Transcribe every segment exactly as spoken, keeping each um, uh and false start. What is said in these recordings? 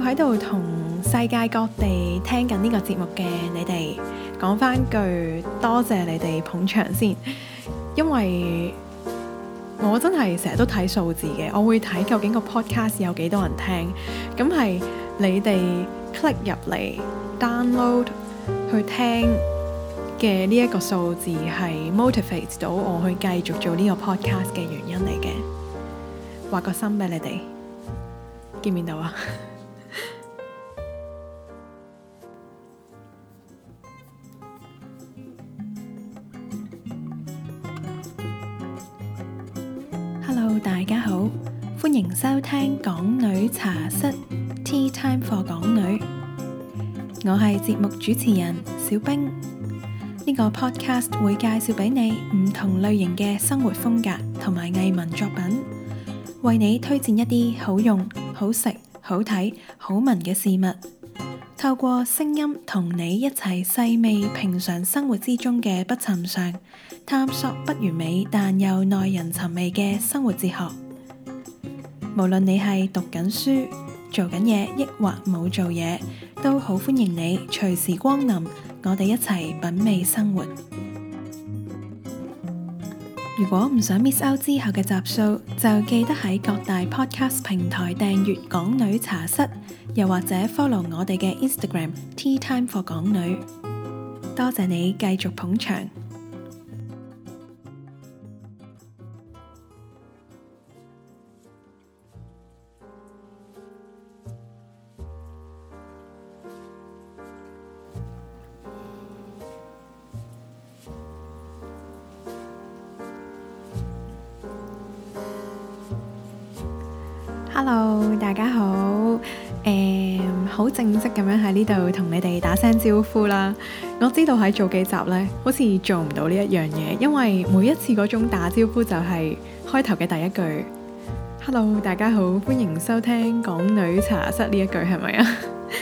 喺度同世界各地聽緊呢個節目嘅你哋講返句多謝你哋捧場先，因為我真係成日都睇數字嘅，我會睇究竟個 podcast 有幾多人聽，咁係你哋 click 入嚟 download 去聽嘅呢一個數字係 motivate 到我去繼續做呢個 podcast 嘅原因嚟嘅。畫個心俾你哋，見唔見到啊？Hello， 大家好，歡迎收聽港女茶室 Tea Time for 港女，我係節目主持人小冰。呢個 podcast 會介紹俾你唔同類型嘅生活風格同埋藝文作品，為你推薦一啲好用、好食、好睇、好聞嘅事物，透過聲音同你一齊細味平常生活之中嘅不尋常，探索不完美但又耐人尋味嘅生活哲學。無論你係讀緊書、做緊嘢，抑或冇做嘢，都好歡迎你隨時光臨，我哋一齊品味生活。如果唔想 miss out 之後嘅集數，就記得喺各大 podcast 平台訂閱港女茶室，又或者 follow 我哋嘅 Instagram Tea Time for 港女。多謝你繼續捧場。Hello， 大家好，誒，好正式咁樣喺呢度同你哋打聲招呼啦。我知道喺做幾集呢，好似做唔到呢一樣嘢，因為每一次嗰種打招呼就係開頭嘅第一句 Hello， 大家好，歡迎收聽港女茶室呢一句，係咪啊？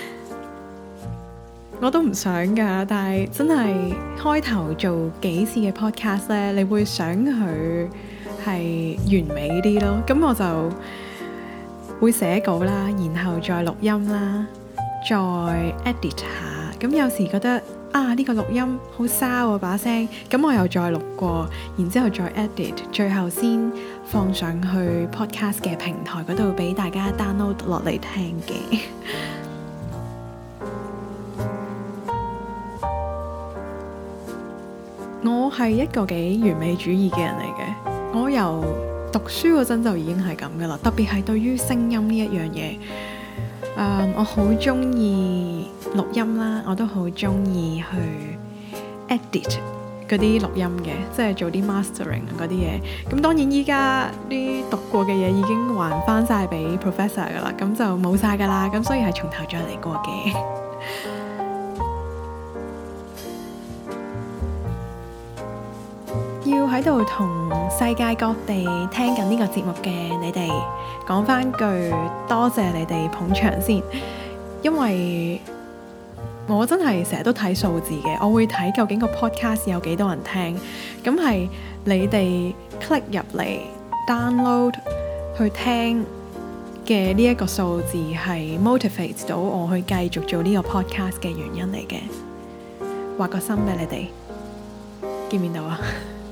我都唔想㗎，但係真係開頭做幾次嘅 podcast 呢，你會想佢係完美啲咯，咁我就會寫稿啦，然後再錄音啦，再 edit 下。咁有時覺得啊，呢個錄音好沙喎把聲，咁我又再錄過，然之後再 edit， 最後先放上去 podcast 嘅平台嗰度俾大家 download 落嚟聽嘅。我係一個幾完美主義嘅人嚟嘅，我由讀書嗰陣就已經係咁噶啦，特別係對於聲音呢一樣嘢，誒，我好中意錄音啦，我都好中意去 edit 嗰啲錄音嘅，即係做啲 mastering 嗰啲嘢。咁當然依家啲讀過嘅嘢已經還翻晒俾 professor 噶啦，咁就冇晒噶啦，咁所以係從頭再嚟過嘅。要喺度同世界各地聽緊呢個節目嘅你哋講返句多謝你哋捧場先，因為我真係成日都睇數字嘅，我會睇究竟個 podcast 有幾多人聽，咁係你哋 click 入嚟 download 去聽嘅呢一個數字係 motivate 到我去繼續做呢個 podcast 嘅原因嚟嘅。畫個心俾你哋，見唔見到啊？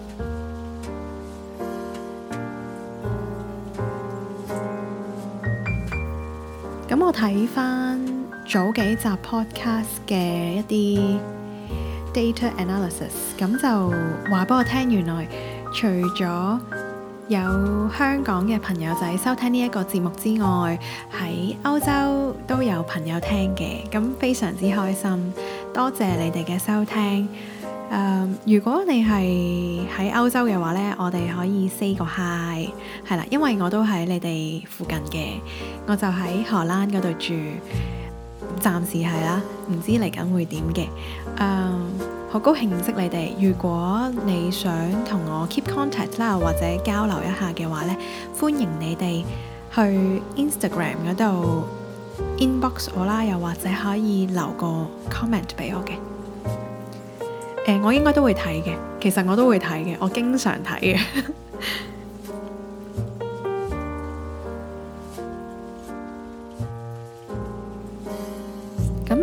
咁我睇翻早幾集 podcast 嘅一啲 data analysis， 咁就話俾我聽，原來除咗有香港嘅朋友仔收聽呢一個節目之外，喺歐洲都有朋友聽嘅，咁非常之開心，多謝你哋嘅收聽。Uh, 如果你係喺歐洲嘅話呢，我哋可以 say 個 hi， 係啦，因為我都喺你哋附近嘅，我就喺荷蘭嗰度住，暫時係啦，唔知嚟緊會點嘅。好、uh, 高興認識你哋。如果你想同我 keep contact 啦，或者交流一下嘅話呢，歡迎你哋去 Instagram 嗰度 inbox 我啦，又或者可以留個 comment 俾我嘅。誒、呃，我應該都會睇嘅，其實我都會睇嘅，我經常睇嘅。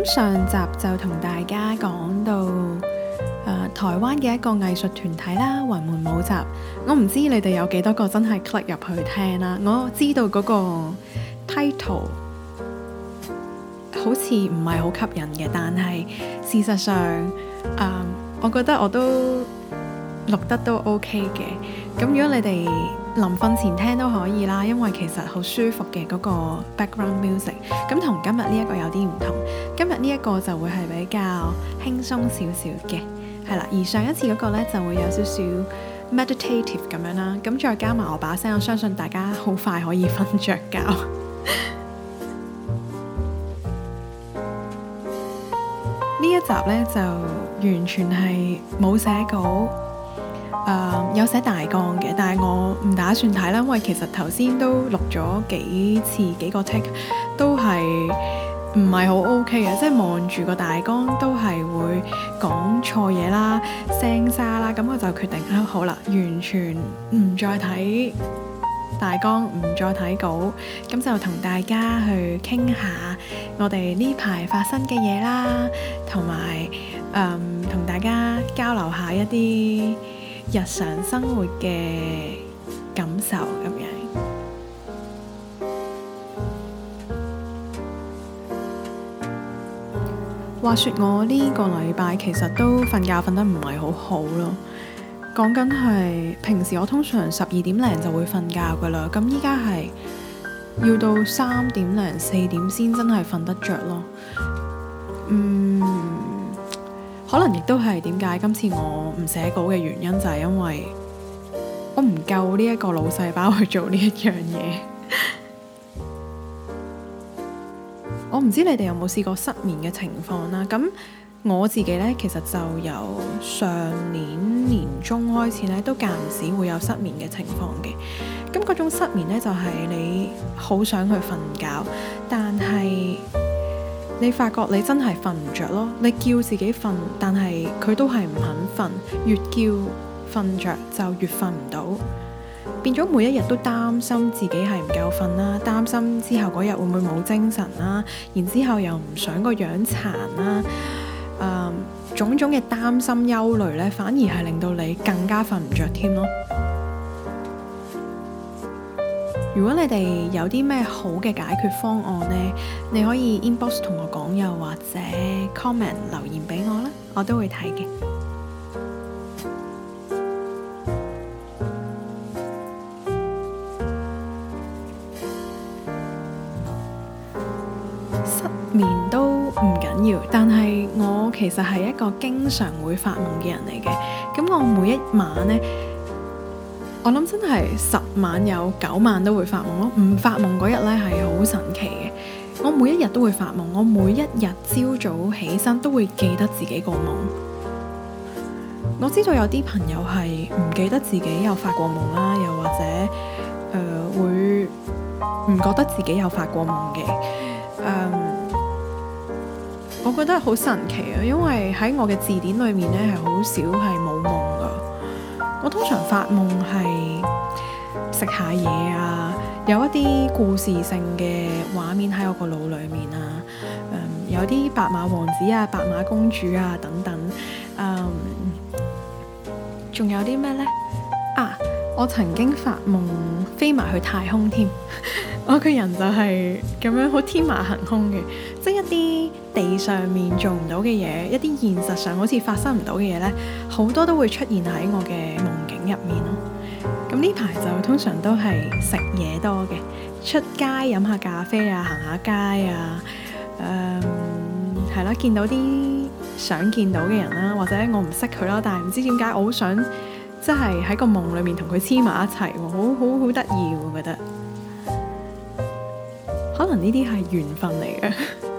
咁上集就同大家講到誒、呃、台灣嘅一個藝術團體啦，雲門舞集。我唔知你哋有幾多個真係 click 入去聽啦。我知道嗰個 title 好似唔係好吸引嘅，但係事實上誒、呃，我覺得我都錄得都 OK 嘅。咁如果你哋臨瞓前聽都可以啦，因為其實好舒服嘅嗰個 background music。咁同今日呢一個有啲唔同，今日呢一個就會係比較輕鬆少少嘅，係啦。而上一次嗰個呢就會有少少 meditative 咁樣啦。咁再加埋我把聲，我相信大家好快可以瞓着覺。呢一集呢就完全係冇寫稿。誒、uh, 有寫大綱嘅，但係我唔打算睇啦，因為其實頭先都錄咗幾次幾個 take，都係唔係好 OK 嘅，即係望住個大綱都係會講錯嘢啦、聲沙啦，咁我就決定啊好啦，完全唔再睇大綱，唔再睇稿，咁就同大家去傾下我哋呢排發生嘅嘢啦，同埋誒同大家交流下一啲日常生活嘅感受咁樣。話說我呢個禮拜其實都瞓覺瞓得唔係好好咯。講緊係平時我通常十二點零就會瞓覺噶啦，咁依家係要到三點零四點先真係瞓得着咯。嗯。可能亦都係點解今次我唔寫稿嘅原因，就係因為我唔夠呢一個腦細胞去做呢一樣嘢。我唔知你哋有冇試過失眠嘅情況啦。咁我自己呢，其實就由上年年中開始呢，都間唔時會有失眠嘅情況嘅。咁嗰種失眠呢，就係你好想去瞓覺，但係你發覺你真係瞓唔着咯，你叫自己瞓，但係佢都係唔肯瞓，越叫瞓着就越瞓唔到，變咗每一日都擔心自己係唔夠瞓啦，擔心之後嗰日會唔會冇精神啦，然之後又唔想個樣殘啦，誒、嗯，種種嘅擔心憂慮呢，反而係令到你更加瞓唔着添咯。如果你哋有啲咩好嘅解決方案呢，你可以 inbox 同我講，又或者 comment 留言俾我啦，我都會睇嘅。失眠都唔緊要，但係我其實係一個經常會發夢嘅人嚟嘅。咁我每一晚呢，我諗真係十晚有九晚都會發夢咯，唔發夢嗰日呢係好神奇嘅。我每一日都會發夢，我每一日朝早起身都會記得自己個夢。我知道有啲朋友係唔記得自己有發過夢啦，又或者誒、呃、會唔覺得自己有發過夢嘅。誒、呃，我覺得好神奇啊，因為喺我嘅字典裏面呢係好少係冇夢噶。我通常發夢係食下嘢啊，有一啲故事性嘅畫面喺我個腦裏面啊，嗯、有啲白馬王子啊、白馬公主啊等等，嗯，仲有啲咩呢？啊，我曾經發夢飛埋去太空添，我個人就係咁樣好天馬行空嘅，即係一啲地上面做唔到嘅嘢，一啲現實上好似發生唔到嘅嘢呢，好多都會出現喺我嘅夢境入面咯。咁呢排就通常都係食嘢多嘅，出街飲下咖啡啊，行下街啊，誒係啦，見到啲想見到嘅人啦，或者我唔識佢啦，但係唔知點解我好想即係喺個夢裏面同佢黐埋一齊喎，好好好得意喎，我覺得可能呢啲係緣分嚟嘅。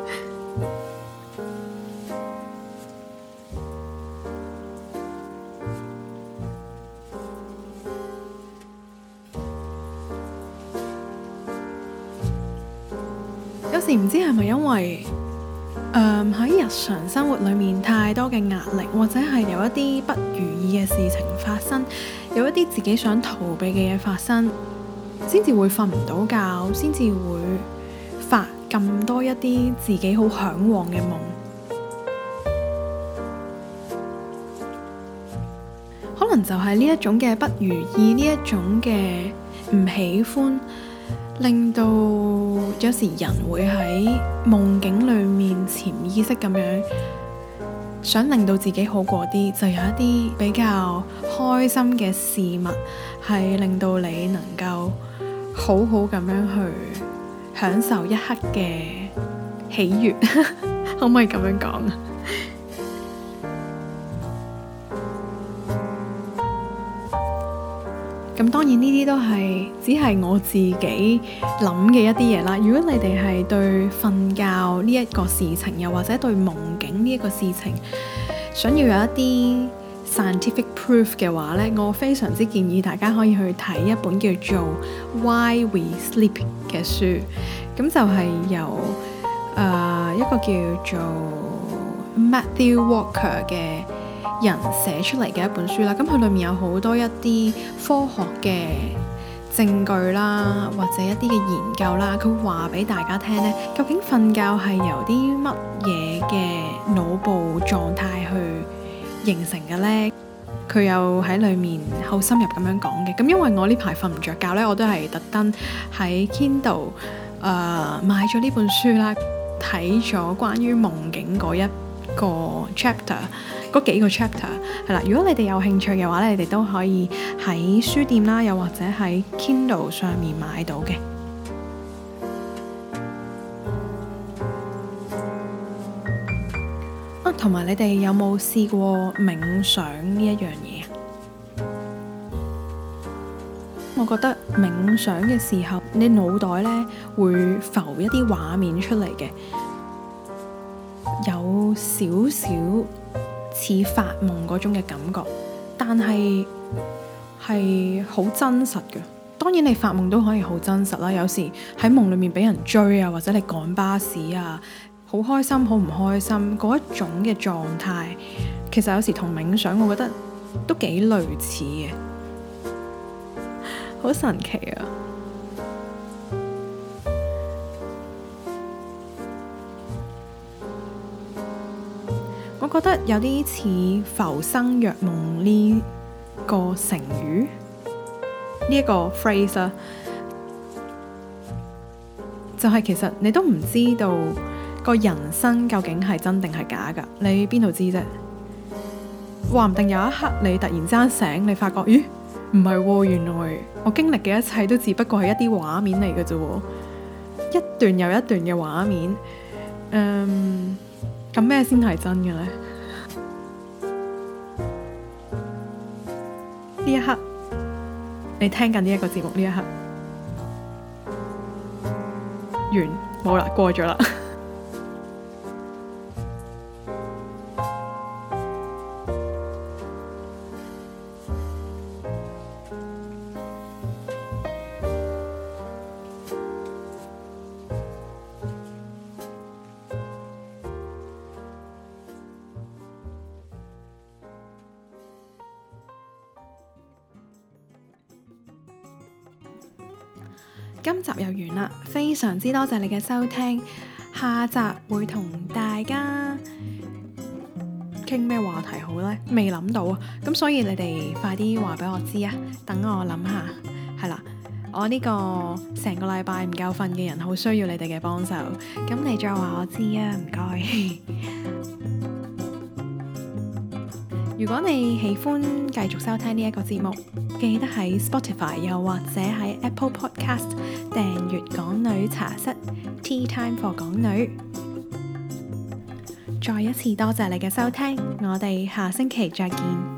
有時唔知係咪因為誒喺日常生活裏面太多嘅壓力，或者係有一啲不如意嘅事情發生，有一啲自己想逃避嘅嘢發生，先至會瞓唔到覺，先至會發咁多一啲自己好嚮往嘅夢。 能就係呢一種嘅不如意，呢一種嘅唔喜歡，令到有時人會喺夢境裡面潛意識咁樣想令到自己好過啲，就有一啲比較開心嘅事物係令到你能夠好好咁樣去享受一刻嘅喜悅，可唔可以咁樣講啊？咁當然呢啲都係只係我自己諗嘅一啲嘢啦。如果你哋係對瞓覺呢一個事情，又或者對夢境呢一個事情，想要有一啲 scientific proof 嘅話呢，我非常之建議大家可以去睇一本叫做 Why We Sleep 嘅書。咁就係由誒、呃、一個叫做 Matthew Walker 嘅人寫出嚟嘅一本書啦。咁佢裏面有好多一啲科學嘅證據啦，或者一啲嘅研究啦，佢話俾大家聽呢，究竟瞓覺係由啲乜嘢嘅腦部狀態去形成嘅呢？佢又喺裏面好深入咁樣講嘅。咁因為我呢排瞓唔着覺呢，我都係特登喺 Kindle 誒、uh, 買咗呢本書啦，睇咗關於夢境嗰一個 chapter， 嗰幾個 chapter 係啦。如果你哋有興趣嘅話咧，你哋都可以喺書店啦，又或者喺 Kindle 上面買到嘅。啊，同埋你哋有冇試過冥想呢一樣嘢？我覺得冥想嘅時候，你腦袋咧會浮一啲畫面出嚟嘅，有少少似發夢嗰種嘅感覺，但係係好真實嘅。當然你發夢都可以好真實啦，有時喺夢裡面俾人追啊，或者你趕巴士啊，好開心好唔開心嗰一種嘅狀態，其實有時同冥想我覺得都幾類似嘅。好神奇啊！我覺得有啲似浮生若夢呢個成語，呢、這、一個 phrase 啦，就係、是、其實你都唔知道個人生究竟係真定係假㗎，你邊度知啫？話唔定有一刻你突然之間醒，你發覺咦？唔係喎，原來我經歷嘅一切都只不過係一啲畫面嚟嘅啫喎，一段又一段嘅畫面。嗯，咁咩先係真嘅呢？呢一刻，你聽緊呢一個節目呢一刻，完，冇啦，過咗啦。今集又完啦，非常之多謝你嘅收聽，下集會同大家傾咩話題好呢？未諗到啊，咁所以你哋快啲話俾我知啊，等我諗下。係啦，我呢個成個禮拜唔夠瞓嘅人，好需要你哋嘅幫手，咁你再話我知啊，唔該。如果你喜歡繼續收聽呢一個節目，記得喺 Spotify 又或者喺 Apple Podcast 訂閱港女茶室 Tea Time for 港女。再一次多謝你嘅收聽，我哋下星期再見。